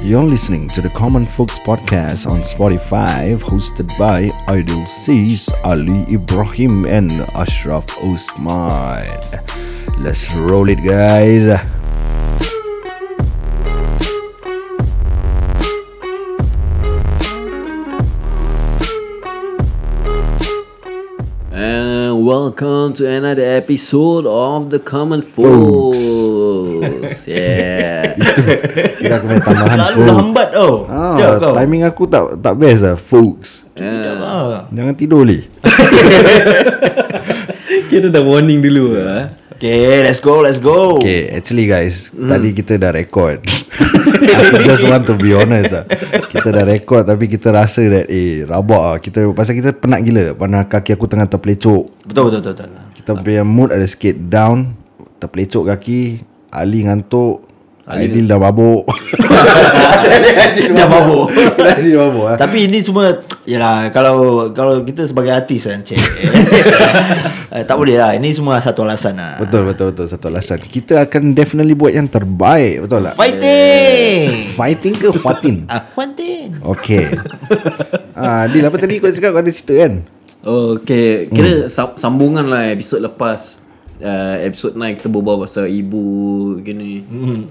You're listening to the Common Folks Podcast on Spotify, hosted by Aidil Sis, Ali Ibrahim and Ashraf Osman. Let's roll it, guys. And welcome to another episode of the Common Folks. Yeah. Kira aku punya tambahan Lalu folks. lambat tau. Timing aku tak best lah, folks. Jangan tidur li. Kita dah warning dulu lah. Okay, let's go. Okay, actually guys, tadi kita dah record. I just want to be honest lah. Kita dah record tapi kita rasa that rabak lah. Pasal kita penat gila. Mana kaki aku tengah terpelecok. Betul. Kita punya mood ada sikit down. Terpelecok kaki. Ali ngantuk. Aidil dah mabuk. Dah mabuk. Dia mabuk lah. Tapi ini semua, yalah, kalau kita sebagai artis kan, tak boleh lah. Ini semua satu alasan lah. Betul. Satu alasan. Kita akan definitely buat yang terbaik. Betul tak? Fighting ke Fatin? Fighting. Okay. Dil, apa tadi kau cakap ada cerita kan? Oh, okay. Kira sambungan lah episod lepas. Episod 9 kita berbual pasal ibu gini.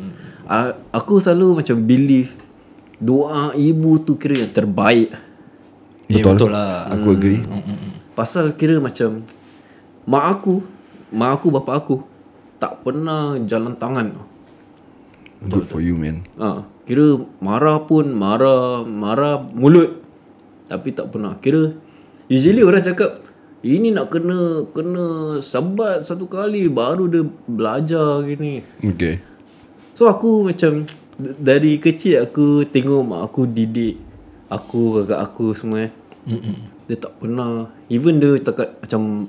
Aku selalu macam believe doa ibu tu kira yang terbaik. Betul lah. Aku agree. Pasal kira macam mak aku bapak aku tak pernah jalan tangan. Good for you, man. Kira marah pun marah mulut, tapi tak pernah. Kira usually orang cakap ini nak kena sabat satu kali baru dia belajar gini. Okay. So aku macam dari kecil aku tengok mak aku didik aku, kakak aku semua. Dia tak pernah, even dia cakap macam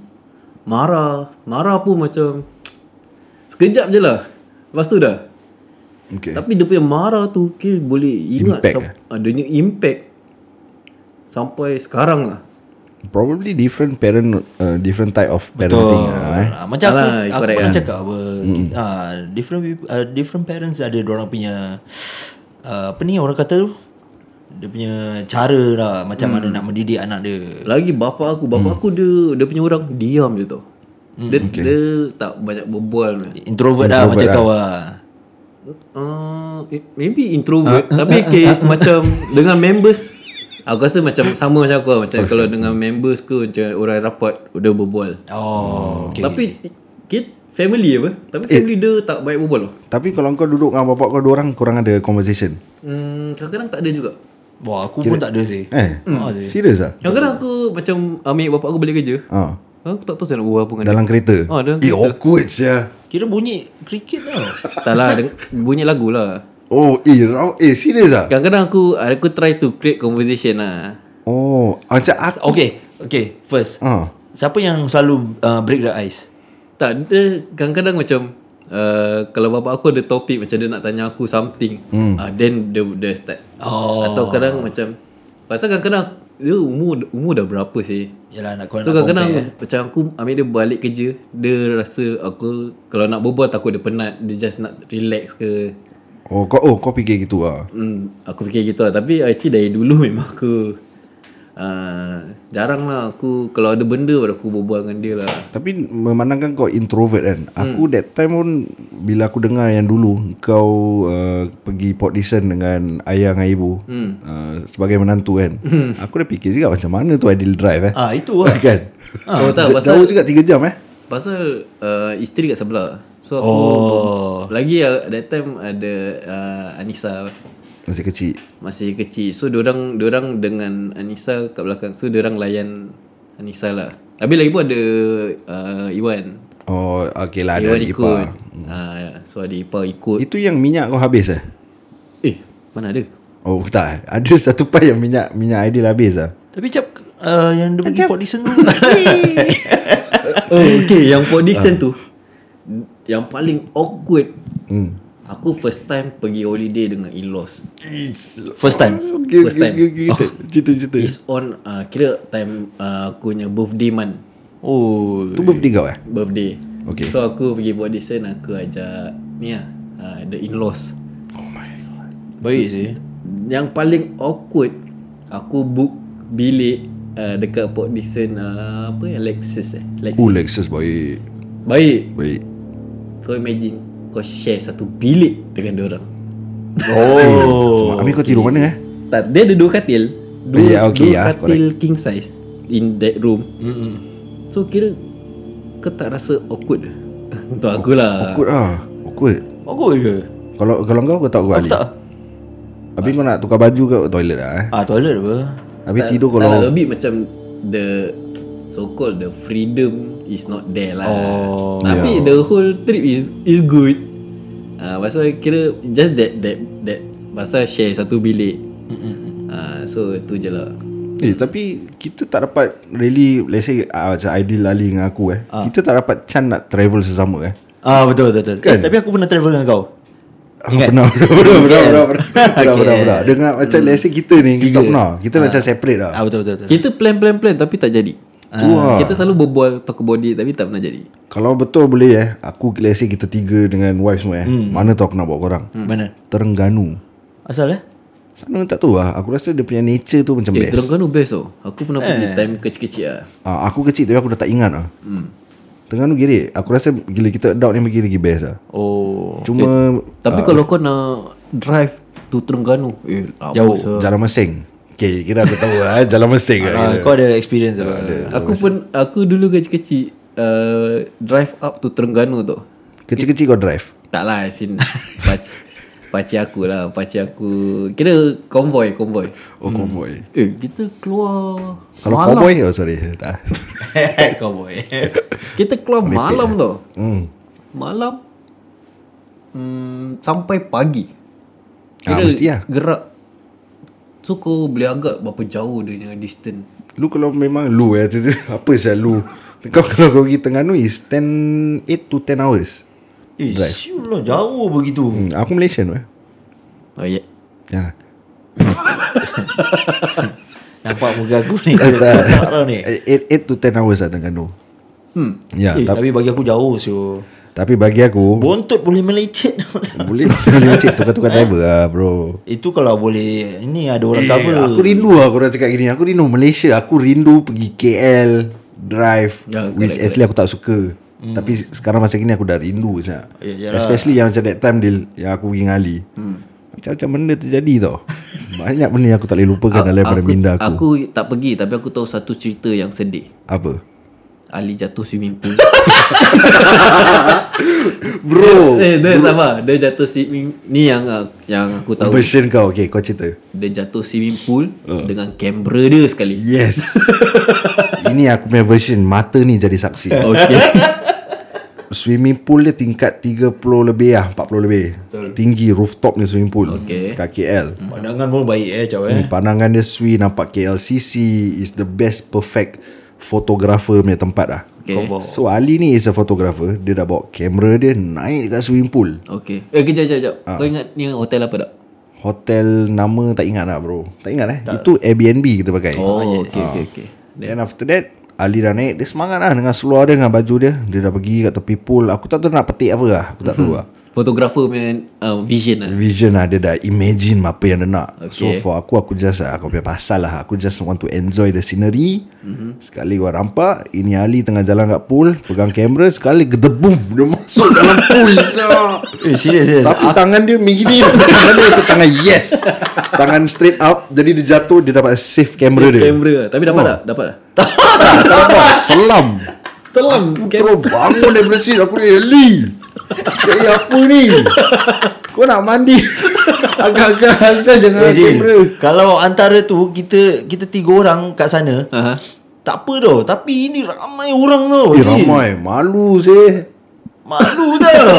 marah pun macam sekejap je lah, lepas tu dah. Okay. Tapi dia punya marah tu kira boleh ingat dia punya impact sampai sekarang lah. Probably different different type of parenting. Macam aku correct pernah lah. cakap apa, different parents ada diorang punya apa ni orang kata tu, dia punya cara lah macam mana nak mendidik anak dia. Lagi bapa aku dia punya orang diam je tau. Dia tak banyak berbual. Introvert lah macam kau lah. Maybe introvert, tapi case macam dengan members aku rasa macam sama macam aku lah. Macam kalau dengan members ke macam orang rapat udah berbual. Okay. Tapi family apa? Tapi family dia tak baik berbual loh. Tapi kalau kau duduk dengan bapak kau dua orang, korang ada conversation? Kadang-kadang tak ada juga. Wah, aku pun tak ada sih. Serius lah? Kadang-kadang aku macam ambil bapak aku balik kerja. Aku tak tahu saya nak buat apa dengan Dalam kereta? dalam kereta. Awkward sia. Kira bunyi kriket tau. Tak lah, bunyi lagu lah. Serius lah? Kadang-kadang aku try to create conversation lah. Macam aku. Okay, first. Siapa yang selalu break the ice? Tak, dia kadang-kadang macam kalau bapak aku ada topik macam dia nak tanya aku something, then dia start. Atau kadang macam pasal kadang-kadang dia umur dah berapa sih. Yalah, nak So kadang-kadang macam aku ambil dia balik kerja, dia rasa aku kalau nak berbual takut dia penat, dia just nak relax ke. Kau fikir gitu lah? Aku fikir gitu lah. Tapi actually dari dulu memang aku jarang lah aku, kalau ada benda baru aku berbual dengan dia lah. Tapi memandangkan kau introvert kan, aku that time pun bila aku dengar yang dulu kau pergi Port Dickson dengan ayah dengan ibu sebagai menantu kan, aku dah fikir juga macam mana tu ideal drive itu lah. kan. Tak, pasal Jauh juga 3 jam pasal isteri kat sebelah. So aku lagi that time ada Anissa masih kecil. So diorang dengan Anissa kat belakang. So diorang layan Anissa lah. Habis lagi pun ada Iwan. Okay lah, ada Iwan adik ikut. ipar. So adik ipar ikut. Itu yang minyak kau habis Mana ada? Tak, ada satu part yang minyak ideal habis Tapi yang dia pergi Port Dickson tu. Okay, yang Port Dickson tu yang paling awkward. Aku first time pergi holiday dengan in-laws. First time. First time. Cerita. It's on kira time aku punya birthday month. Tu birthday kau Birthday. Okay. So aku pergi buat desain, aku ajak ni lah the in-laws. Oh my god. Baik sih. Yang paling awkward, aku book bilik dekat Port Dickson, apa yang Lexus Lexus baik. Baik. Kau imagine kau share satu bilik dengan diorang. Habis kau tidur mana Tak, dia ada 2 katil. Dua katil correct. king size in that room. So kira kau tak rasa awkward ke? Untuk aku lah. Awkward ke? Kalau kau tak awkward Ali? Tak. Habis kau nak tukar baju ke toilet lah Toilet apa? Habis tidur Tak lah, kalau a bit macam the so called the freedom is not there lah. Tapi the whole trip is good. Pasal kira just that pasal share satu bilik. So tu je lah. Tapi kita tak dapat really, let's say macam ideal Ali dengan aku kita tak dapat chance nak travel sesama Betul kan? Tapi aku pernah travel dengan kau. Ingat? Pernah Dengan macam let's say kita ni kita tak pernah. Kita macam separate lah. Betul. Kita plan tapi tak jadi. Kita selalu berbual talk about it tapi tak pernah jadi. Kalau betul boleh aku let's say kita 3 dengan wife semua mana tu aku nak bawa korang. Mana? Terengganu. Asal Sana tak tahu lah. Aku rasa dia punya nature tu macam best. Terengganu best tau. Aku pernah pergi time kecil-kecil lah. Aku kecil tapi aku dah tak ingat lah. Terengganu gila. Aku rasa gila kita adult ni pergi lagi best lah. Cuma tapi kalau kau nak drive to Terengganu jauh. Jalan Mesing. Okay, kira aku tahu lah Jalan Mesing kau ada experience lah. Aku dulu kecil-kecil drive up to Terengganu tu. Kecil-kecil kau drive? Tak lah, asin pakcik aku kira konvoy. Konvoy. Kita keluar kalau malam. cowboy sorry tak. Cowboy. Kita keluar malam tau. Malam sampai pagi. Kira mesti lah. gerak. So kau boleh agak berapa jauh dia punya distance. Lu kalau memang lu apa sah lu. Kalau kau pergi Terengganu is 8 to 10 hours. Drive. Syulah jauh begitu. Aku Malaysian Oh ya. Ya. Nampak muka aku ni. Tak tahu ni. 8 to 10 hours lah Terengganu. Ya, tapi bagi aku jauh tapi bagi aku bontot boleh melecet. boleh melecet tukar-tukar driver lah bro. Itu kalau boleh. Ini ada orang cover. Aku rindu lah korang cakap gini. Aku rindu Malaysia. Aku rindu pergi KL drive which actually aku tak suka. Tapi sekarang masa gini aku dah rindu especially yang macam that time yang aku pergi dengan Ali. Macam-macam benda terjadi tau. Banyak benda yang aku tak boleh lupakan dalam pada minda aku. Aku tak pergi tapi aku tahu satu cerita yang sedih. Apa? Ali jatuh swimming pool. Bro. Dia sama. Dia jatuh swimming. Ni yang aku tahu. Version kau. Okay, kau cerita. Dia jatuh swimming pool dengan kamera dia sekali. Yes. Ini aku punya version. Mata ni jadi saksi. Okay. Swimming pool dia tingkat 30 lebih lah, 40 lebih. Tinggi rooftop ni swimming pool. Kat KL. Pandangan pun baik Pandangan dia sweet, nampak KLCC is the best perfect photographer punya tempat lah. So Ali ni is a photographer. Dia dah bawa kamera dia naik dekat swimming pool. Okay. Kejap. Kau ingat ni hotel apa tak? Hotel nama tak ingat lah bro. Tak ingat Itu Airbnb kita pakai. Okay. Then after that Ali dah naik. Dia semangat lah dengan seluar dia, dengan baju dia. Dia dah pergi kat tepi pool. Aku tak tahu nak petik apa lah. Aku tak tahu lah. Fotografer punya vision lah. Vision lah. Dia dah imagine apa yang dia nak. So for aku just aku punya pasal lah. Aku just want to enjoy the scenery. Sekali gua rampak ini Ali tengah jalan kat pool, pegang kamera, sekali gedebum dia masuk dalam pool. Serius. Tapi tangan dia begini. Tangan dia macam tangan yes. Tangan straight up. Jadi dia jatuh, dia dapat save kamera dia. Tapi dapat tak? Dapat tak? Selam. Aku terus bangun daripada sini. Aku ni Ali, apa ni? Kau nak mandi? Agak-agak asal jangan kamera. Kalau antara tu Kita 3 orang kat sana tak apa tau. Tapi ini ramai orang tau. Ramai. Malu sih. Malu tau.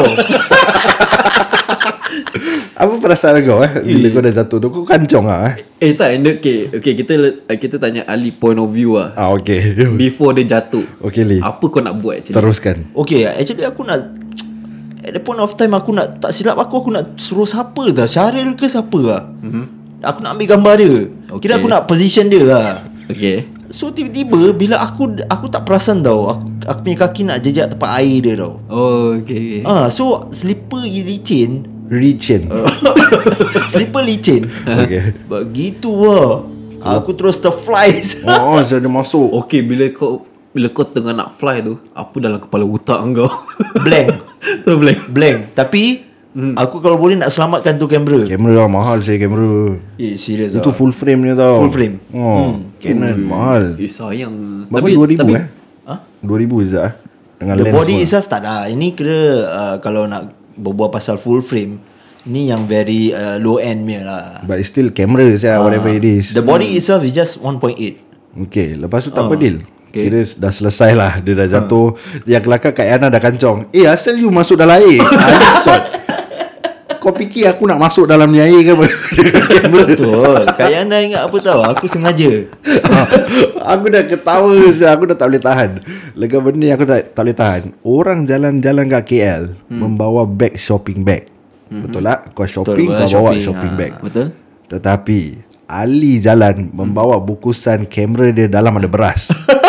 Apa perasaan kau bila kau dah jatuh tu? Kau kancong lah Tak. Okay, kita tanya Ali point of view lah. Okay. Before dia jatuh. Okay Lee, apa kau nak buat actually? teruskan. Okay, actually aku nak, at the point of time aku nak, tak silap aku nak suruh siapa dah, Syaril ke siapa lah. Aku nak ambil gambar dia. Kira aku nak position dia lah. Okay. So tiba-tiba bila aku tak perasan tau, aku punya kaki nak jejak tempat air dia tau. Oh okay. So slipper licin. Licin. Slipper licin. Okay. Begitu lah. Aku terus terfly. Oh, saya ada masuk. Okay, bila kau tengah nak fly tu, apa dalam kepala otak kau? Blank. Terus blank. Tapi aku kalau boleh nak selamatkan tu kamera. Kamera lah, mahal saya kamera. Serius Itu lah. full frame ni tau. Full frame. Canon mahal. Sayang. Berapa 2000 2000 je dengan The lens body semua. itself tak ada. Ini kira kalau nak berbual pasal full frame, ni yang very low end punya lah. But it's still camera saya, whatever it is. The body itself is just 1.8. Okay, lepas tu tak apa deal. Kira dah selesai lah. Dia dah jatuh. Yang kelakar Kak Yana dah kancong. Asal you masuk dalam air. Alisot. Kau fikir aku nak masuk dalam ni air ke apa? Betul. Kak Yana ingat apa tahu? Aku sengaja. Aku dah ketawa saya. Aku dah tak boleh tahan. Lega benda yang aku tak boleh tahan. Orang jalan-jalan kat KL membawa bag shopping bag. Betul tak? Kau shopping, Betul, kau bawa shopping, shopping bag. Betul? Tetapi Ali jalan membawa bukusan kamera dia dalam ada beras.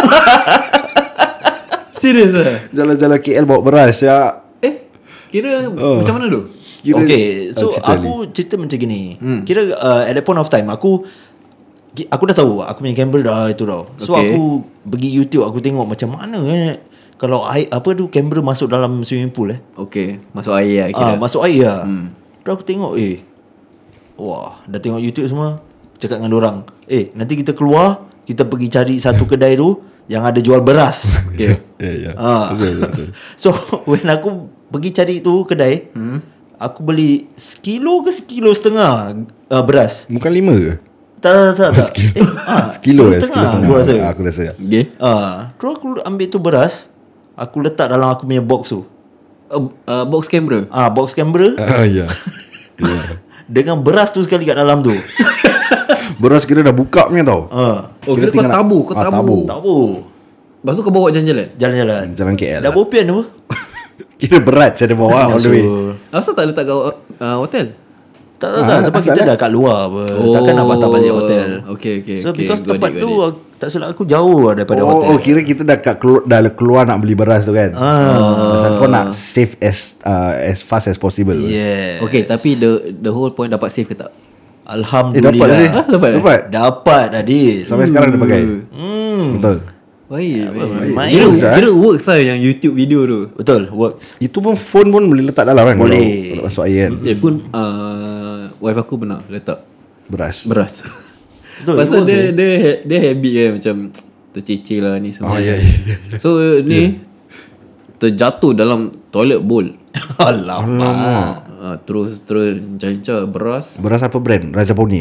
Serius lah? Jalan-jalan KL bawa beras ya. Kira macam mana tu? Kira, Okay, so cerita aku cerita macam gini. Kira at that point of time aku dah tahu aku punya kamera dah itu dah. So Okay. aku pergi YouTube, aku tengok macam mana kalau air, apa tu kamera masuk dalam swimming pool Okay, masuk air lah kira. masuk air lah. Terus aku tengok wah, dah tengok YouTube semua. Cakap dengan dorang, nanti kita keluar, kita pergi cari satu kedai tu yang ada jual beras. Okay. Ya. Betul. So when aku pergi cari tu kedai, aku beli sekilo ke sekilo setengah beras. Bukan 5 ke? Tak. Sekilo setengah, setengah. aku rasa. Aku rasa. Okay. Terus aku ambil tu beras, aku letak dalam aku punya box tu. Box camera. Box kamera Ya. dengan beras tu sekali kat dalam tu. Beras kira dah buka punya tau. Oh, kira kau tinggal nak- tabu. Kau tabu. Tak apa. Lepas tu kau bawa jalan-jalan? Jalan-jalan. Jalan KL Dah lah. bopian tu. Kira berat saya dia bawa all the way. Asal tak letak kat hotel? Tak. Sebab asal kita lah. dah kat luar apa. Takkan nak patah balik hotel. Okay. So because Got tempat it. tu tak silap aku jauh lah daripada hotel. Oh, kira kita dah keluar nak beli beras tu kan. Pasal kau nak save as fast as possible. Yeah. Okay, tapi the whole point dapat save ke tak? Alhamdulillah. Dapat sih. Dapat? Dapat Adil. Sampai sekarang dia pakai. Betul. Baik. main Kira works lah yang YouTube video tu. Betul, works. Itu pun phone pun boleh letak dalam kan. Boleh. Kalau masuk air kan. Phone wife aku pernah letak Beras. Betul. Pasal dia habit kan macam tercicir lah ni semua. Ya. So ni terjatuh dalam toilet bowl. Alamak. Terus cancah beras. Beras apa brand? Raja Poni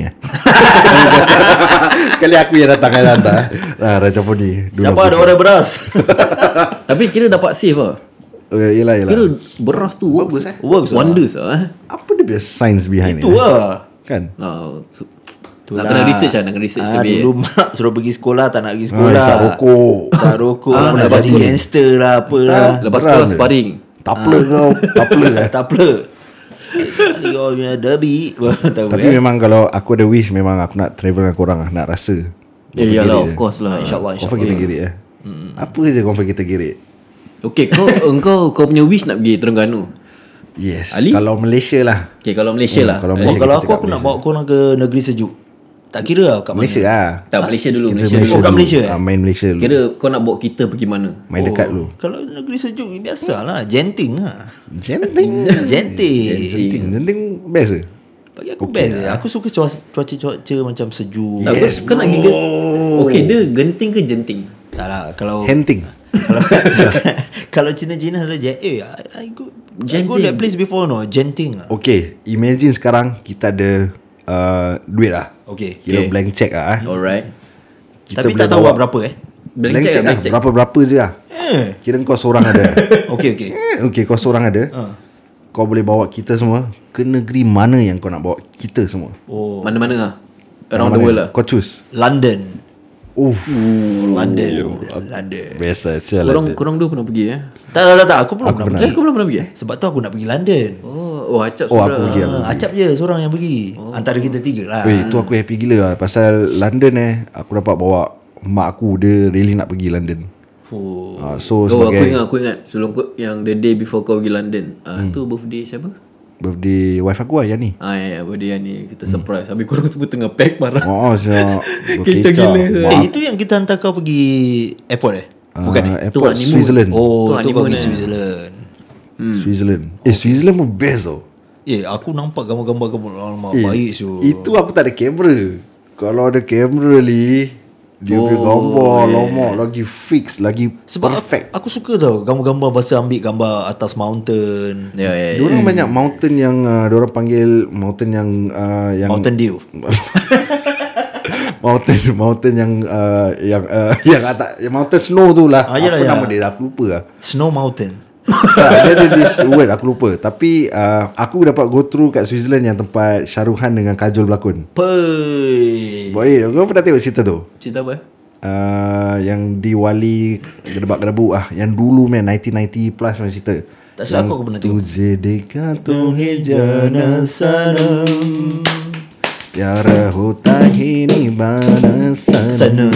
Sekali aku yang datang kan hantar. Raja Poni. Siapa ada orang beras? Tapi kira dapat save lah. Yelah. Kira beras tu works. Works lah. Wonders lah. Apa dia punya science behind Itu it? lah. Kan? Nak kena research lah. Nak kena research lebih. Dulu mak suruh pergi sekolah, tak nak pergi sekolah. Isap rokok. Isap rokok lah, nak lepas jadi sekolah. gangster lah, apa lah. Lepas Beram sekolah je. sparring. Tapler kau. Tapler Tak apa. Kali kau punya derby. Tahu Tapi memang kalau aku ada wish, memang aku nak travel dengan korang lah. Nak rasa. Iyalah, of course lah. InsyaAllah. Confirm kita girik Apa je confirm kita girik. Okay, kau punya wish nak pergi Terengganu. Yes. Ali? Kalau Malaysia lah. Okay, kalau Malaysia lah. Kalau Oh, Malaysia kalau kita aku cakap nak bawa korang ke negeri sejuk. Tak kira lah kat mana. Malaysia lah. Tak, Malaysia dulu. Kita Malaysia dulu. kat dulu. Malaysia, Main Malaysia dulu. Kira kau nak bawa kita pergi mana? Main dekat dulu. Kalau negeri sejuk biasalah, Genting lah. Genting. Genting best ke? Bagi aku best je. Aku suka cuaca macam sejuk. Tak, kau nak pergi okay, dia genting ke jenting? Tak lah, kalau Henting. kalau Cina-Cina ada I go Genting. that place before no, Genting lah. Okay, imagine sekarang kita ada duit lah. Okay. Kira Okay. blank check lah. Alright. Kita Tapi boleh tak tahu bawa lah berapa Blank check lah. Berapa-berapa je lah. Kira kau seorang ada. Okay. Okay, kau seorang ada. Kau boleh bawa kita semua ke negeri mana yang kau nak bawa kita semua. Oh, Mana-mana lah. Around the world lah. Kau choose. London. London. Biasa je lah. Korang dua pernah pergi Tak. Aku belum pernah pernah. pergi. kau belum pernah pergi Sebab tu aku nak pergi London. Acap Oh, sudah. aku pergi lah. Acap je seorang yang pergi. Antara kita tiga lah. Weh, tu aku happy gila lah. Pasal London aku dapat bawa mak aku. Dia really nak pergi London. So Oh, sebagai aku ingat sebelum yang the day before kau pergi London. Tu birthday siapa? Birthday wife aku lah Yani. Ya, birthday ni kita surprise. Habis korang semua tengah pack parah. Siap. Kecap gila. Itu yang kita hantar kau pergi airport Bukan Airport honeymoon. Switzerland. Tu kau honeymoon pergi Switzerland. Switzerland. Switzerland pun best tau. Aku nampak gambar-gambar kamu baik so. Itu aku tak ada kamera. Kalau ada kamera ni, dia punya gambar lama lagi fix, lagi Sebab perfect. aku suka tau gambar-gambar pasal ambil gambar atas mountain. Ya. Diorang banyak mountain yang diorang panggil mountain yang Mountain Dew. mountain yang atas, yang mountain snow tu lah. Yalah, Apa ya. nama dia? Aku lupa lah. Snow Mountain. Dia ada this word aku lupa. Tapi aku dapat go through kat Switzerland yang tempat Shah Rukh Khan dengan Kajol berlakon. Baik, kau pernah tengok cerita tu? Cerita apa? Yang di Wali gedebak-gedebuk yang dulu 1990 plus macam cerita. Tak silap aku pernah tengok. Tujhe dekha tumhe jana sanam, pyara hota hi nibana sanam.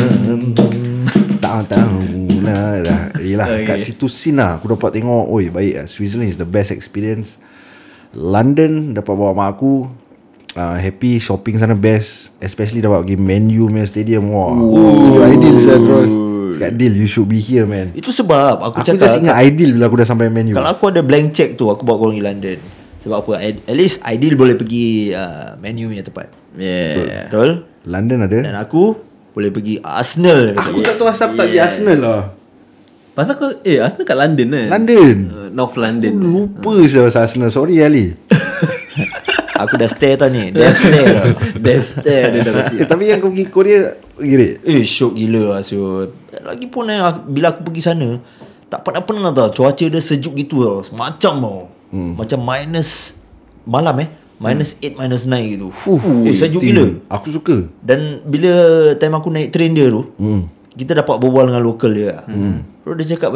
Tak tahu lah. Yelah, kat situ scene lah aku dapat tengok. Oi, baik lah. Switzerland is the best experience. London dapat bawa mak aku. Happy, shopping sana best. Especially dapat pergi Man U punya stadium. Wah, itu ideal saya terus. Cakap deal, you should be here man. Itu sebab aku Aku cakap just ingat ideal bila aku dah sampai Man U. kalau aku ada blank check tu aku bawa korang pergi London. Sebab apa? At least Aidil boleh pergi Man U punya tempat. Yeah. Betul? London ada. Dan aku boleh pergi Arsenal. Aku tak tahu asal tak pergi Arsenal lah. Pasal kau Arsenal kat London kan? London. North London. Lupa saya pasal Arsenal. Sorry Ali. Aku dah stay tau ni. Death stay tau. Death stare dia dah kasi. Tapi yang kau pergi Korea Girik. Syok gila lah Syok. Lagipun bila aku pergi sana tak pernah tau cuaca dia sejuk gitu tau. Macam tau macam minus malam minus 8 minus 9 gitu. Sejuk gila. Aku suka. Dan bila time aku naik train dia tu kita dapat berbual dengan lokal dia. Terus dia cakap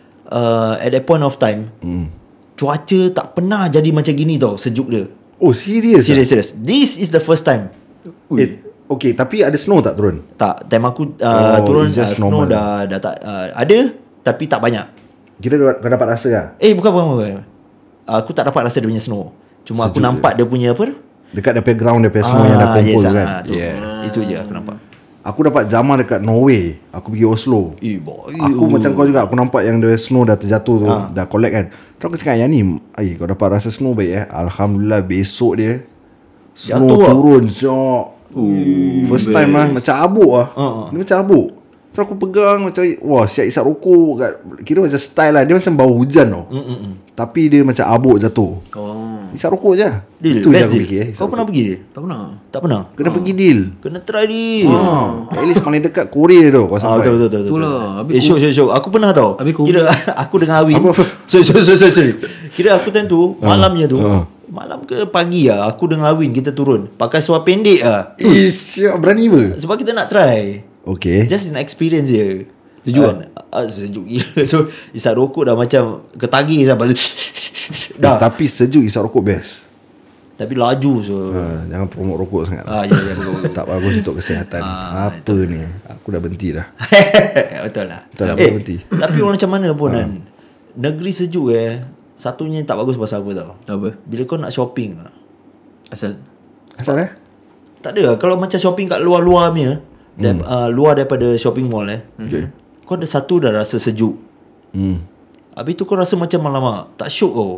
at that point of time cuaca tak pernah jadi macam gini tau sejuk dia. Oh serius? Serius. This is the first time. Okay, tapi ada snow tak turun? Tak, time aku turun it's just snow normal. dah tak ada tapi tak banyak. Kira kau dapat rasa lah? Bukan. Aku tak dapat rasa dia punya snow. Cuma aku nampak dia punya apa? Dekat dia ground dia snow yang dah kumpul kan. Itu je aku nampak. Aku dapat jamah dekat Norway. Aku pergi Oslo. Boy. Aku macam kau juga. Aku nampak yang the snow dah terjatuh tu, dah collect kan. Terus aku cakap yang ni, kau dapat rasa snow baik Alhamdulillah. Besok dia snow jatuh turun syok. First time lah. Macam abuk lah. Dia macam abuk. Terus aku pegang macam wah siap isap rokok kat, kira macam style lah. Dia macam bau hujan tau. Tapi dia macam abuk jatuh. Isap rokok je. Itu je aku fikir. Kau pernah pergi dia? Tak pernah. Kena pergi deal. Kena try dia. At least paling dekat Korea tu kau sampai. Betul. Itulah. Syok. Aku pernah tau. Habis Kira aku dengan Awin. Sorry. Kira aku time tu malamnya tu. Malam ke pagi lah aku dengan Awin kita turun pakai seluar pendek lah. Siap berani apa? Sebab kita nak try. Okay. Just an experience je. Sejuk sejuk gila. So isap rokok dah macam ketagih sampai dah. Tapi sejuk isap rokok best. Tapi laju so. Jangan promote rokok sangat. Ya betul. Tak bagus untuk kesihatan. Apa ni? Aku dah berhenti dah. Betul lah. Betul lah, berhenti. Tapi orang macam mana pun kan. Negeri sejuk satunya tak bagus pasal apa tau. Apa? Bila kau nak shopping Asal Asal tak ada kalau macam shopping kat luar-luar punya luar daripada shopping mall Okay. kau ada satu dah rasa sejuk. Habis tu kau rasa macam alamak tak syok kau.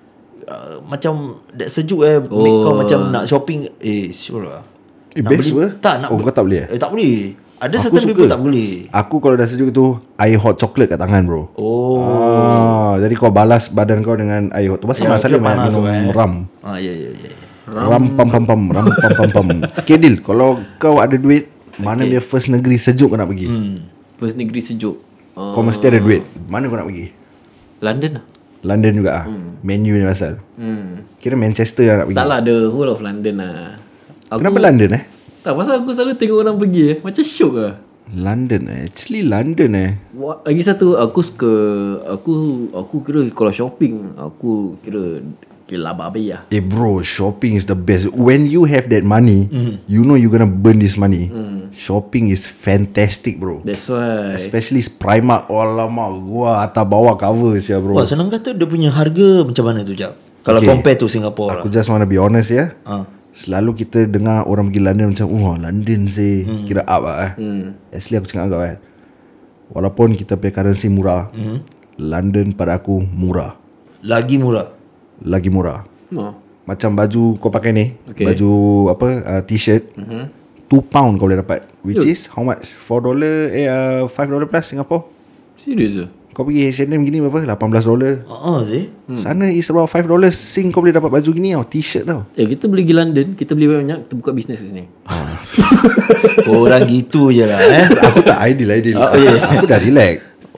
Macam that sejuk make kau macam nak shopping syok lah. Nak best beli, apa? tak nak kau tak boleh tak boleh. Ada Aku certain suka. people tak boleh. Aku kalau dah sejuk tu air hot chocolate kat tangan bro. Jadi kau balas badan kau dengan air hot tu. Pasal masalah panas minum ram. Ya. Ram pam pam. Okay deal. Kalau kau ada duit, mana dia first negeri sejuk kau nak pergi? First negeri sejuk. Kau mesti ada duit. Mana kau nak pergi? London lah. London juga Man U ni pasal. Kira Manchester lah nak pergi. Tak lah, the whole of London lah. Kenapa London Tak, pasal aku selalu tengok orang pergi macam syok lah. London actually London Lagi satu aku suka aku kira kalau shopping aku kira babi lah. bro, shopping is the best. When you have that money, you know you're gonna burn this money. Shopping is fantastic bro. That's why. Especially Primark. Alamak, gua atas bawah cover sia bro. Wah senang kata dia punya harga macam mana tu Jap. Kalau compare to Singapore Aku just wanna be honest ya. Ah. Selalu kita dengar orang pergi London macam London sih kira up lah Actually aku cakap agak kan, walaupun kita punya currency murah, London pada aku murah. Lagi murah. Lagi murah. Macam baju kau pakai ni, Okay. baju apa t-shirt, £2 kau boleh dapat, which is how much? $4 $5 plus Singapore. Serius ke? Kau pergi H&M gini berapa? $18. Sih. Sana is about $5 Sing kau boleh dapat baju gini tau, t-shirt tau. Kita boleh pergi London, kita beli banyak, kita buka bisnes kat sini. Orang gitu je lah Aku tak ideal. Aku dah relax.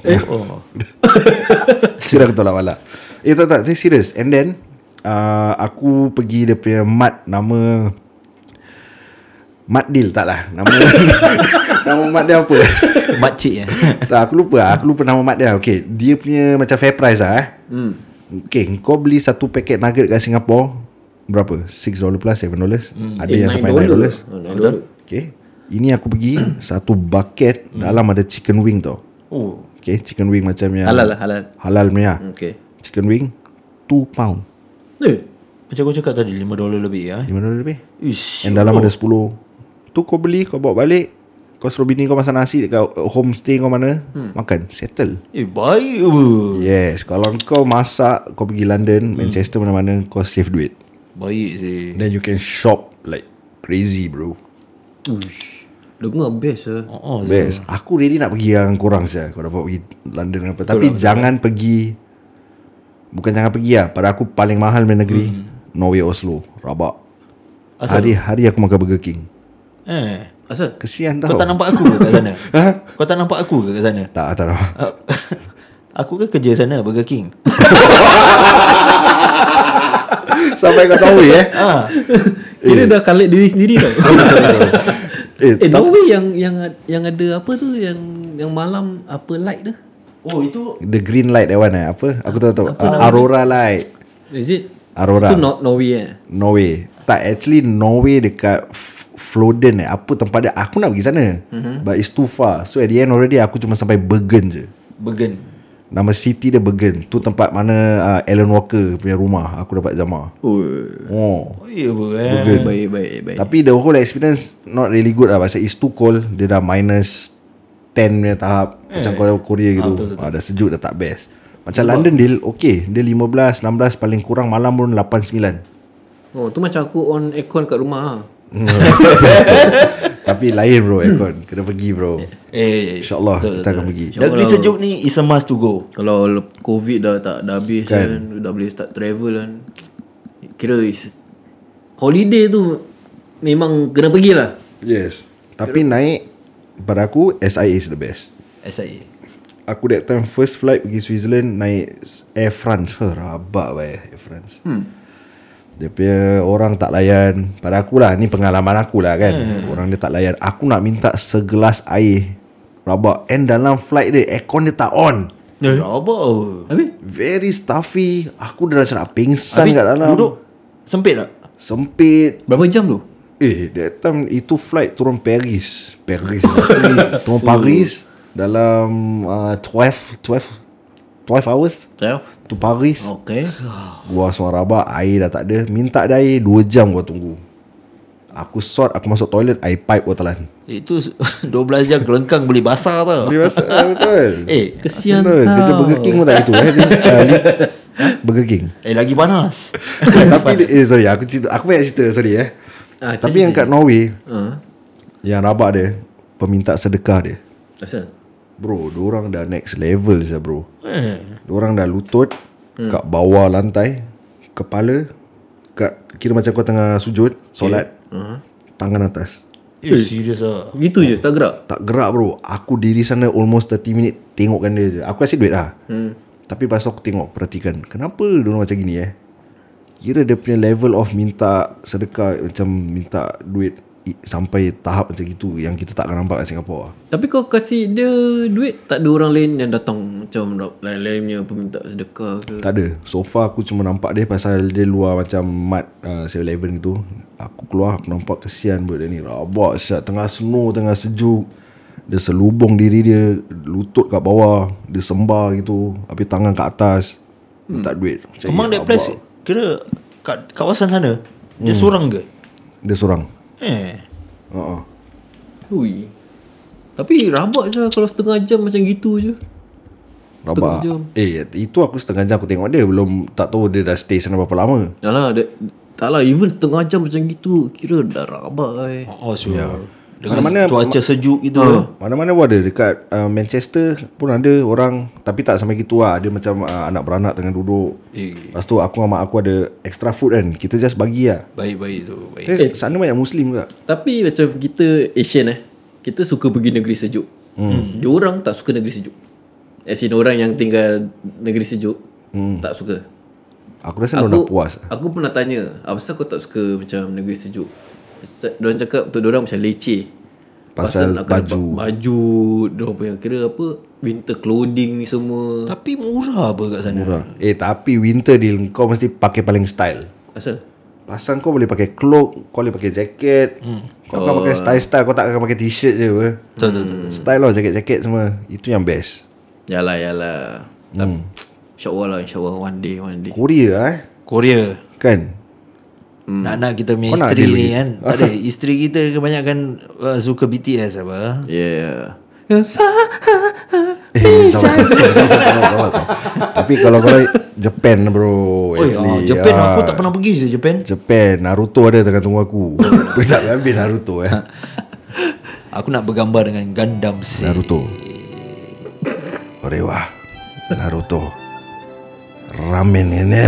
Sudah aku tolak malak. Tak serius. And then aku pergi dia punya mat, nama Mat Deal tak lah. Nama mat dia apa? Makcik Tak, aku lupa nama mat dia. Okay, dia punya macam fair price lah Okay, kau beli satu paket nugget kat Singapore berapa? $6 plus, $7. Ada yang sampai $9. Okay, ini aku pergi satu bucket dalam ada chicken wing tau. Okay, chicken wing macam yang halal punya. Okay. Chicken wing £2. Macam kau cakap tadi $5 lebih ya. $5 lebih. Ish. And dalam ada 10. Tu kau beli, kau bawa balik, kau suruh bini kau masak nasi dekat homestay kau mana, makan, settle. Baik. Yes, kalau kau masak, kau pergi London, Manchester mana-mana, kau save duit. Baik sih. Then you can shop like crazy bro. Dengar best lah. Best. Aku ready nak pergi yang korang saja. Kau dapat pergi London apa. Tapi jangan pergi. Bukan jangan pergi lah. Pada aku paling mahal main negeri Norway, Oslo. Rabak. Hari-hari aku makan Burger King. Asal? Kesian tau. Kau tak nampak aku ke kat sana? Kau tak nampak aku ke kat sana? Tak nampak. Aku kan kerja sana Burger King. Sampai kau tahu Kira dah collect diri sendiri tau. Norway yang ada apa tu, yang malam apa light tu? Itu The green light that one apa? Aku tahu. Aurora light. Is it? Aurora. Itu Norway Norway. Tak, actually Norway dekat Floden apa tempat dia. Aku nak pergi sana, but it's too far. So at the end already aku cuma sampai Bergen je. Bergen. Nama city dia Bergen. Tu tempat mana Alan Walker punya rumah aku dapat jamah. Ya Bergen. Baik. Tapi the whole experience not really good lah. Pasal it's too cold. Dia dah minus 10 punya tahap. Macam Korea gitu. Dah sejuk, dah tak best. Macam London dia okay. Dia 15, 16 paling kurang malam pun 8, 9. Tu macam aku on aircon kat rumah. Tapi lain bro aircon. Kena pergi bro. InsyaAllah kita akan pergi. Negeri sejuk ni is a must to go. Kalau COVID dah habis kan, dah boleh start travel kan, kira is holiday tu memang kena pergi lah. Yes. Tapi naik, pada aku SIA is the best. SIA. Aku that time first flight pergi Switzerland naik Air France. Rabak Air France. Dia punya orang tak layan. Pada aku lah, ni pengalaman aku lah kan. Orang dia tak layan. Aku nak minta segelas air. Rabak. And dalam flight dia aircon dia tak on. Rabak. Habis? Very stuffy. Aku dah macam nak pingsan kat dalam. Duduk sempit tak? Sempit. Berapa jam tu? That time itu flight turun Paris. Turun Paris dalam 12 hours 12? to Paris. Okay. Gua suara rabak, air dah tak ada. Minta dia air 2 jam gua tunggu. Aku sort, aku masuk toilet, air pipe gua telan. Itu 12 jam kelengkang beli basah tau. Dia rasa betul. Kesian betul. tau. Kerja Burger King pun tak itu Burger King. Lagi panas. Tapi sorry, aku banyak cerita, sorry Tapi yang kat Norway, yang rabak dia, peminta sedekah dia. Asal? Bro, diorang dah next level je bro. Diorang dah lutut kat bawah lantai, kepala kira macam kau tengah sujud solat, tangan atas. Serius lah. Gitu je, tak gerak? Tak gerak bro. Aku diri sana almost 30 minit tengokkan dia je. Aku kasih duit lah. Tapi pas aku tengok, perhatikan, kenapa diorang macam gini Kira dia punya level of minta sedekah, macam minta duit sampai tahap macam gitu yang kita tak akan nampak kat Singapore. Tapi kau kasih dia duit, tak ada orang lain yang datang macam lain-lain punya peminta sedekah ke? Tak ada. So far aku cuma nampak dia pasal dia luar macam mat 7-Eleven gitu. Aku keluar, aku nampak kesian buat dia ni. Rabak siap, tengah snow, tengah sejuk. Dia selubung diri dia, lutut kat bawah, dia sembah gitu, habis tangan kat atas, minta duit. Among that place kira kat kawasan sana dia seorang ke? Dia seorang. Ui. Tapi rabak je kalau setengah jam macam gitu je. Rabak. jam. Itu aku setengah jam aku tengok dia. Belum tak tahu dia dah stay sana berapa lama. Yalah, tak lah, even setengah jam macam gitu kira dah rabak. Sure. Dengan Mana-mana- cuaca sejuk gitu. Mana-mana pun ada. Dekat Manchester pun ada orang. Tapi tak sampai gitu lah. Dia macam anak beranak tengah duduk. Lepas tu aku sama mak aku ada extra food kan. Kita just bagi lah. Baik-baik tu. Baik. Sana banyak Muslim juga. Tapi macam kita Asian kita suka pergi negeri sejuk. Diorang tak suka negeri sejuk. As in orang yang tinggal negeri sejuk tak suka. Aku rasa dia dah puas. Aku pernah tanya, apa pasal kau tak suka macam negeri sejuk? Diorang cakap untuk diorang macam leceh. Pasal akan baju. Baju diorang punya kira apa, winter clothing ni semua. Tapi murah apa kat sana? Murah. Tapi winter deal kau mesti pakai paling style. Asal? Pasal kau boleh pakai cloak, kau boleh pakai jaket. Kau akan pakai style-style, kau tak akan pakai t-shirt je apa. Betul. Style lah jaket-jaket semua. Itu yang best. Yalah. InsyaAllah one day. Korea Korea. kan. Nak kita punya Kau nak isteri deal ni lagi? kan. Ada isteri kita kebanyakan suka BTS apa. Yeah. Sabar. Tapi kalau Japan bro. Japan aku tak pernah pergi je Japan. Japan Naruto ada tengah tunggu aku. Aku tak habis Naruto Aku nak bergambar dengan Gundam Seed. Naruto Orewa Naruto ramen ini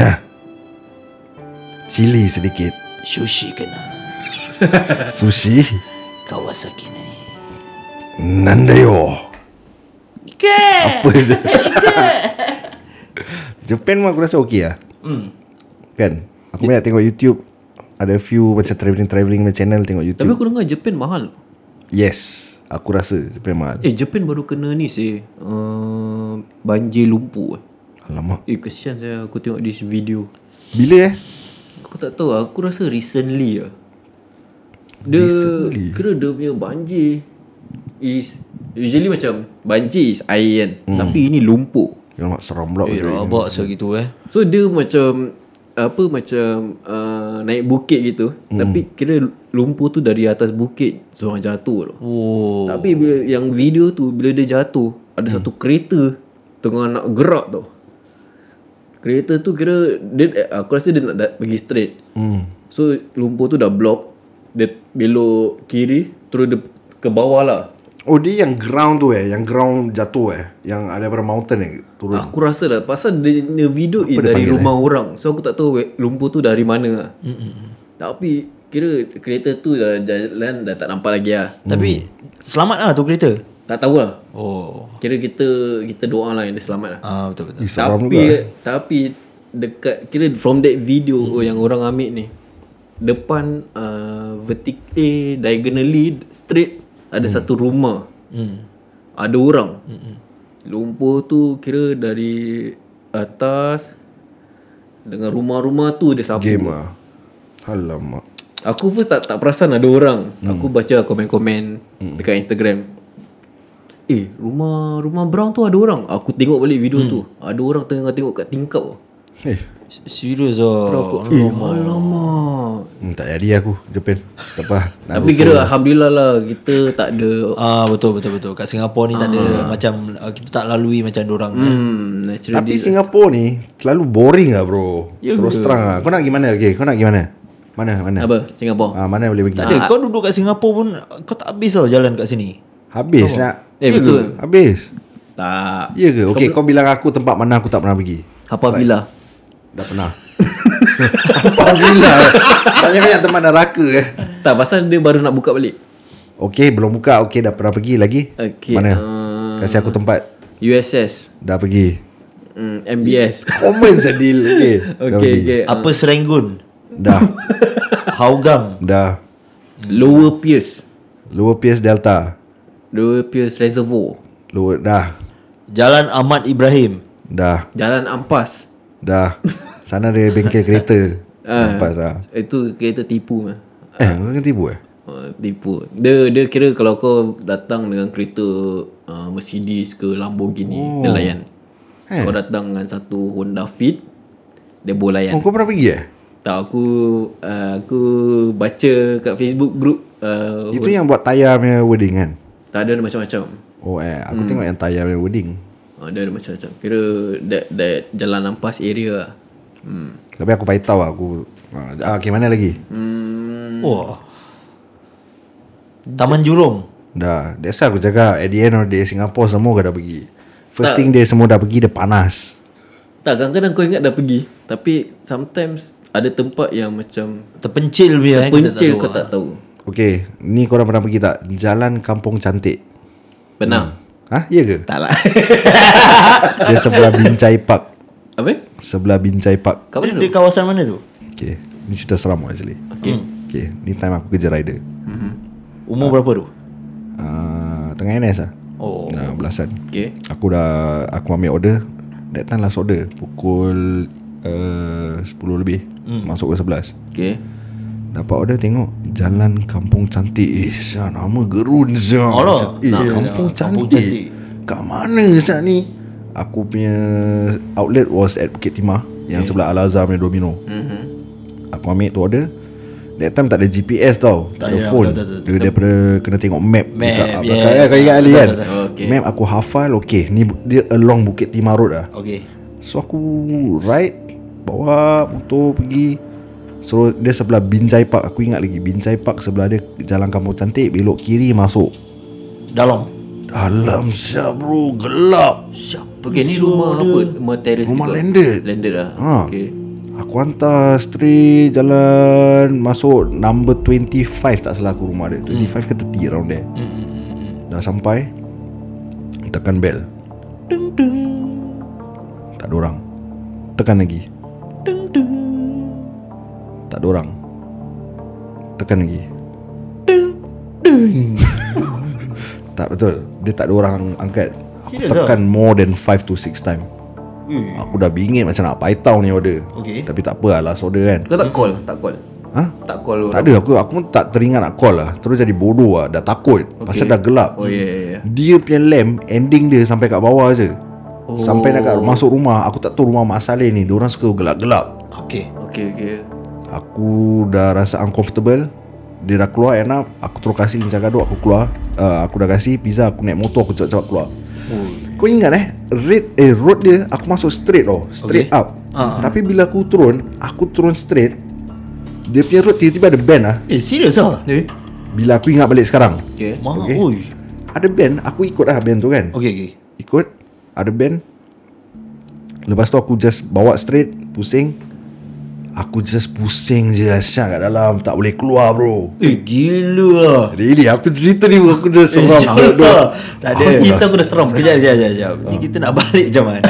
chili sedikit, Sushi kena. sushi Kawasaki ni. nandayo. Apa je. Japan mah aku rasa okey lah. Kan aku banyak tengok YouTube. Ada few macam travelling channel tengok YouTube. Tapi aku dengar Japan mahal. Yes, aku rasa Japan mahal. Japan baru kena ni banjir lumpur. Alamak. Kesian saya aku tengok this video. Bila Aku tak tahu, aku rasa recently lah. Dia kira dia punya banjir is usually macam banjir is air kan. Tapi ini lumpur. Alamak, seram pula. Rabak gitu So dia macam naik bukit gitu. Tapi kira lumpur tu dari atas bukit seorang jatuh tau. Tapi bila, yang video tu bila dia jatuh, ada satu kereta tengah nak gerak tau. Kereta tu kira dia, aku rasa dia nak pergi straight. So lumpur tu dah block. Dia belok kiri, terus dia ke bawah lah. Oh, dia yang ground tu yang ground jatuh yang ada pada mountain turun. Aku rasa lah pasal dia video Apa dia dari panggil, rumah orang. So aku tak tahu lumpur tu dari mana lah. Tapi kira kereta tu dah jalan dah tak nampak lagi lah. Tapi selamat lah tu kereta. Tak tahu lah. Oh. Kira kita doa lah yang dia selamat lah. Betul. Seram juga. Tapi dekat kira from that video yang orang ambil ni, depan diagonally straight ada satu rumah. Ada orang. Lumpur tu kira dari atas dengan rumah-rumah tu dia sapu. Game lah. Alamak. Aku first tak perasan ada orang. Aku baca komen-komen dekat Instagram. Rumah brown tu ada orang. Aku tengok balik video tu. Ada orang tengah tengok kat tingkap. Serius lah. Alamak. Tak jadi aku Japan. Tak apa. Tapi kira Alhamdulillah lah kita tak ada. Betul. Kat Singapura ni tak ada macam kita tak lalui macam dorang. Natural Tapi Singapura ni terlalu boring lah bro. Terus terang lah. Kau nak pergi mana? Okay, kau nak pergi mana? Mana? Apa? Singapura. Mana boleh pergi? Tak ada. Kau duduk kat Singapura pun kau tak habis tau jalan kat sini. Habis nak. Betul. Habis. Tak. Ya ke? Okay, kau bilang aku tempat mana aku tak pernah pergi. Apa villa? Dah pernah. Apa villa? Banyak-banyak tempat neraka Tak, pasal dia baru nak buka balik. Okay, belum buka. Okay, dah pernah pergi lagi. Okay. Mana? Kasih aku tempat. USS. Dah pergi. MBS. Common sedil. Okay. Dah pergi. Okay. Apa Serenggun? Dah. Hougang. Dah. Lower Pierce. Lower Pierce Delta. Lower Pierce Reservoir. Lower. Dah. Jalan Ahmad Ibrahim. Dah. Jalan Ampas. Dah. Sana ada bengkel kereta. Nampak lah. Itu kereta tipu mah. Kau kan tipu Tipu. Dia kira kalau kau datang dengan kereta Mercedes ke Lamborghini, dia layan. Kau datang dengan satu Honda Fit, Dia bolayan. Kau pernah pergi Tak, aku baca kat Facebook group Itu yang buat Taya punya wedding kan? tak ada macam-macam. Aku tengok yang Taya punya wedding. Dia ada macam-macam. Kira that Jalan Ampas area lah. Tapi aku tahu aku okay, mana lagi? Wah. Taman Jurong. Dah, that's why aku cakap at the end of the day Singapore semua dah pergi. First thing dia semua dah pergi, dia panas. Tak, kadang-kadang kau ingat dah pergi, tapi sometimes ada tempat yang macam Terpencil punya pencil kau tak tahu. Okay, ni korang pernah pergi tak? Jalan Kampung Cantik. Pernah? Hah? Ya ke? Tak lah. Dia sebelah Binjai Park. Apa? Sebelah Binjai Park. Kat mana Di tu? kawasan mana tu? Okay, ni cerita seram actually. Okay, ni time aku kerja rider. Umur berapa tu? Tengah NS lah. Oh. Belasan. Okay. Aku ambil order. That time last order pukul 10 lebih. Masuk ke 11. Okay. Dapat order, tengok Jalan Kampung Cantik. Nama gerun siap. Alah. Kampung Kampung Cantik. Cantik. Kat mana siap ni? Aku punya outlet was at Bukit Timah, yang sebelah Al-Azhar punya Domino. Aku ambil tu order. That time tak ada GPS tau, tak ada phone. betul. Dia daripada kena tengok map. Map, Kau ingat Ali kan? Okay. Map aku hafal. Okay, ni dia along Bukit Timah Road lah. Okay. So aku ride, bawa motor pergi. So dia sebelah Binjai Park. Aku ingat lagi, Binjai Park sebelah dia Jalan Kampung Cantik. Belok kiri masuk. Dalam siap bro, gelap. Okay, ni rumah apa? Rumah terrace Rumah ke? landed. Landed lah. Okay. Aku hantar straight jalan masuk number 25, tak salah aku rumah dia. 25 ke 30 around there. Dah sampai, tekan bell. Tak ada orang. Tekan lagi. Tak ada orang. Tekan lagi. Tak betul. Dia tak ada orang angkat. Aku Serious tekan more than 5 to 6 time. Aku dah bingit macam nak paitau ni order. Okay. Tapi tak apa lah, last order kan. Kau tak call? Tak call? Ha? Tak call orang? Tak ada, aku pun tak teringat nak call lah. Terus jadi bodoh lah. Dah takut pasal dah gelap. Oh ya. Dia punya lamp ending dia sampai kat bawah je. Sampai nak masuk rumah. Aku tak tahu rumah Mak Saleh ni, diorang suka gelap-gelap. Okay. Okay. Aku dah rasa uncomfortable. Dia dah keluar, enak. Aku terus kasih lincah gaduh. Aku keluar, aku dah kasih pizza. Aku naik motor, aku cepat-cepat keluar. Kau ingat road dia aku masuk straight tau. Straight up. Tapi bila aku turun straight, dia punya road tiba-tiba ada bend lah. Serius lah? Bila aku ingat balik sekarang, Okay. Okay. Oi. ada bend. Aku ikut lah bend tu kan. Okay. Ikut, ada bend. Lepas tu aku just bawa straight, pusing. Aku just pusing je asyak kat dalam. Tak boleh keluar bro. Gila lah. Really, aku cerita ni aku dah seram. Tak ada. Kau cerita aku dah seram. Sekejap. Ni kita nak balik macam mana?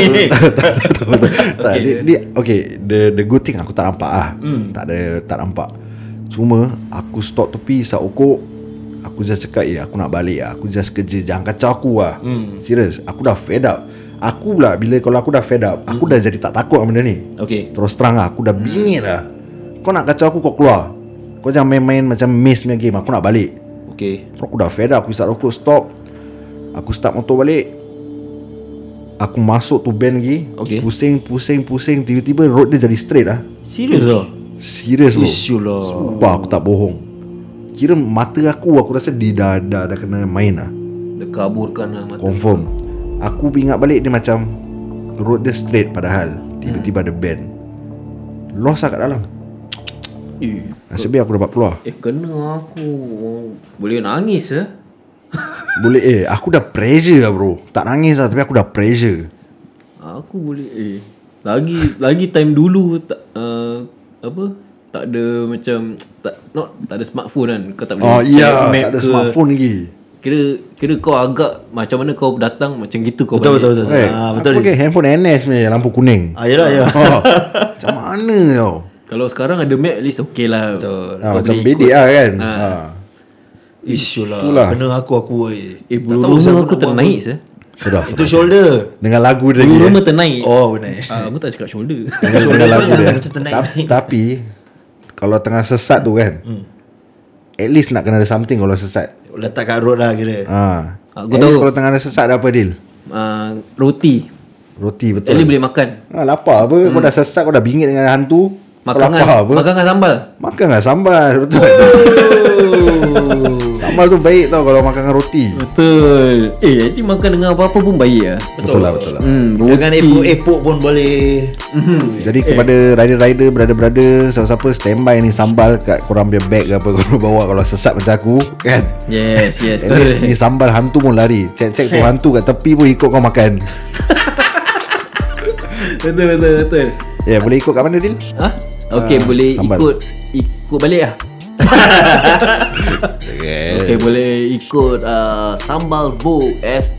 Tak, okay, the good thing aku tak nampak lah. Tak nampak. Cuma aku stop tepi isap okok. Aku just cakap aku nak balik lah. Aku just kerja, jangan kacau aku lah. Serius, aku dah fed up. Aku pula kalau aku dah fed up, aku dah jadi tak takut benda ni. Okay. Terus terang lah, aku dah bingit lah. Kau nak kacau aku, kau keluar. Kau jangan main-main macam maze punya game. Aku nak balik. Okay. So aku dah fed up. Aku isap rokok, stop. Aku start motor balik. Aku masuk tu bend lagi. Okay. Pusing. Tiba-tiba road dia jadi straight lah. Serius lah? Serius bro. Isyulah. Sumpah aku tak bohong. Kira mata aku rasa dia dah kena main lah. Dia kaburkan lah mata. Confirm. Aku ingat balik dia macam road dia straight padahal tiba-tiba ada bend. Lost lah kat dalam. Nasib baik aku dapat keluar. Kena aku. Boleh nangis Boleh aku dah pressure lah bro. Tak nangis lah, tapi aku dah pressure. Aku boleh Lagi time dulu tak tak ada macam tak ada smartphone kan. Kau tak boleh check map tak ada ke. smartphone lagi. Kira kau agak macam mana kau datang macam gitu kau Betul. balik. Betul. Aku pakai handphone NS ni, lampu kuning. Yelah. Macam mana tau. Kalau sekarang ada map at least okay lah. Betul. Kau Macam boleh bedek ikut. lah kan. Isyulah. Itulah. Kena aku. Bulu rumah aku ternaik Sedap. Itu shoulder. Dengan lagu dia Bulu lagi. rumah ternaik. Oh benar. Aku tak cakap shoulder. Dengan lagu dia. Macam ternaik. Tapi kalau tengah sesat tu kan, at least nak kena ada something kalau sesat. Letak kat road lah kira. Aku At least tahu. kalau tengah ada sesat ada apa deal? Roti. Roti betul. Jadi boleh makan. Lapar apa? Kau dah sesak, kau dah bingit dengan hantu. Makan dengan sambal. Makan dengan sambal. Betul. Sambal tu baik tau kalau makan dengan roti. Betul. Actually makan dengan apa-apa pun baik lah. Betul lah. Dengan epok-epok pun boleh. Jadi kepada rider-rider, brother-brother, siapa-siapa standby ni sambal kat korang punya bag ke apa korang bawa kalau sesat macam aku kan. Yes. At least ni sambal hantu pun lari. Cek tu hantu kat tepi pun ikut kau makan. Betul. Boleh ikut kat mana Dil? Okay, boleh sambal. ikut balik lah. Okay, boleh ikut Sambal Vogue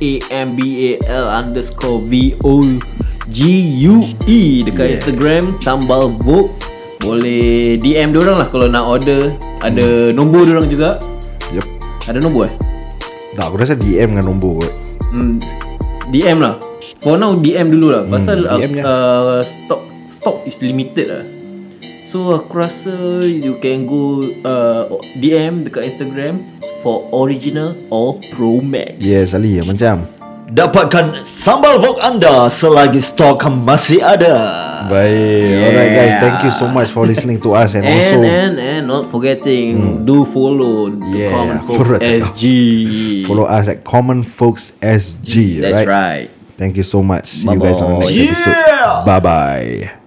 SAMBAL_VOGUE dekat Instagram Sambal Vogue. Boleh DM diorang lah kalau nak order. Ada nombor diorang juga. Yep. Ada nombor Tak, aku rasa DM dengan nombor kot. DM lah. For now DM dulu lah. Pasal DM stock is limited lah. So aku rasa you can go DM dekat Instagram for original or Pro Max. Yes, Ali macam. Dapatkan Sambal Vogue anda selagi stok masih ada. Baik. Alright guys, thank you so much for listening to us and also not forgetting do follow Common Folks SG. Follow us at Common Folks SG. That's right. Thank you so much. See you guys on the next episode. Bye bye.